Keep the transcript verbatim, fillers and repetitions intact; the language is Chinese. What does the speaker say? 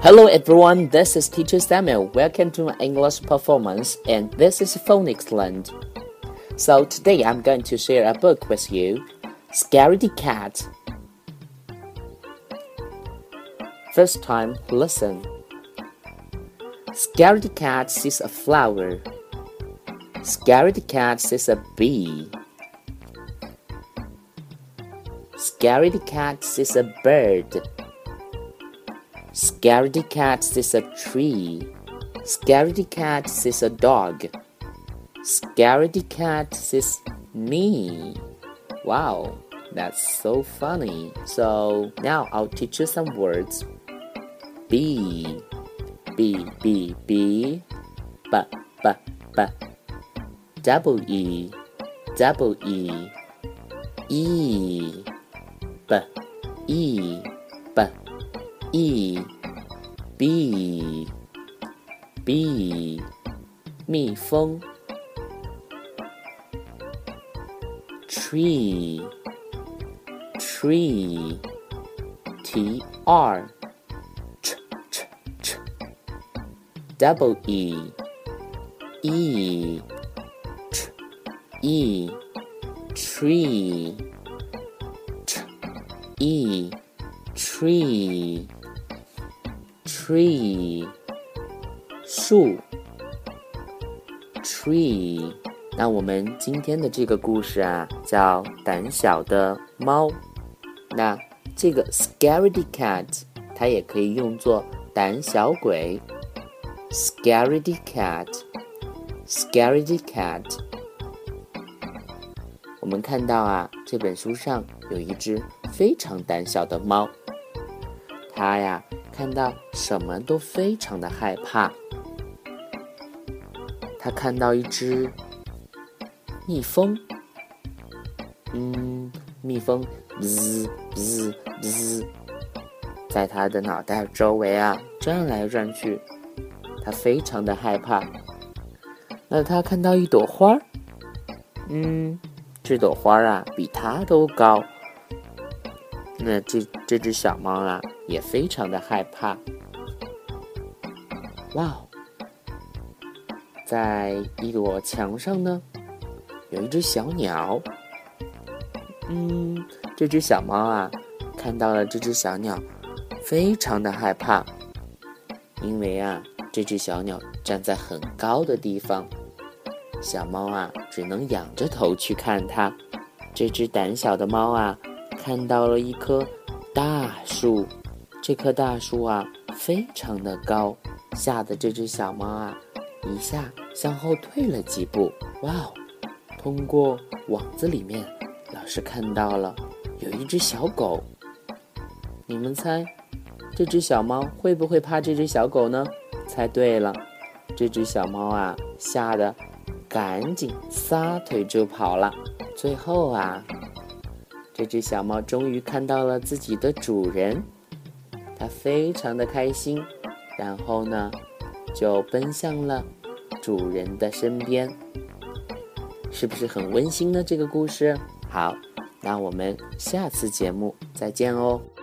Hello everyone, this is Teacher Samuel. Welcome to my English performance, and this is Phonics Land. So today I'm going to share a book with you, Scaredy Cat. First time, listen. Scaredy Cat sees a flower. Scaredy Cat sees a bee. Scaredy Cat sees a bird. Scaredy Cat sees a tree. Scaredy Cat sees a dog. Scaredy Cat sees me. Wow, that's so funny. So now I'll teach you some words. Bee, B, B, B, B, B, B. Double E, double E. E, B, E, B, E. B, B. 蜜蜂 Tree, tree. T, R. Ch, ch, ch. Double E, E. Ch, E. Tree. Ch, E. Tree. Tree. 树 Tree。 那我们今天的这个故事啊，叫胆小的猫。那这个 Scaredy Cat 它也可以用作胆小鬼。 Scaredy Cat, Scaredy Cat。 我们看到啊，这本书上有一只非常胆小的猫，它呀看到什么都非常的害怕。他看到一只蜜蜂，嗯，蜜蜂滋滋滋，在他的脑袋周围啊转来转去，他非常的害怕。那他看到一朵花，嗯，这朵花啊比他都高。那这这只小猫啊也非常的害怕。哇，在一朵墙上呢有一只小鸟。嗯，这只小猫啊看到了这只小鸟非常的害怕，因为啊这只小鸟站在很高的地方，小猫啊只能仰着头去看它。这只胆小的猫啊看到了一棵大树，这棵大树啊非常的高，吓得这只小猫啊一下向后退了几步。哇哦！通过网子里面，老师看到了有一只小狗。你们猜，这只小猫会不会怕这只小狗呢？猜对了，这只小猫啊吓得赶紧撒腿就跑了。最后啊，这只小猫终于看到了自己的主人，它非常的开心，然后呢就奔向了主人的身边。是不是很温馨呢？这个故事好，那我们下次节目再见哦。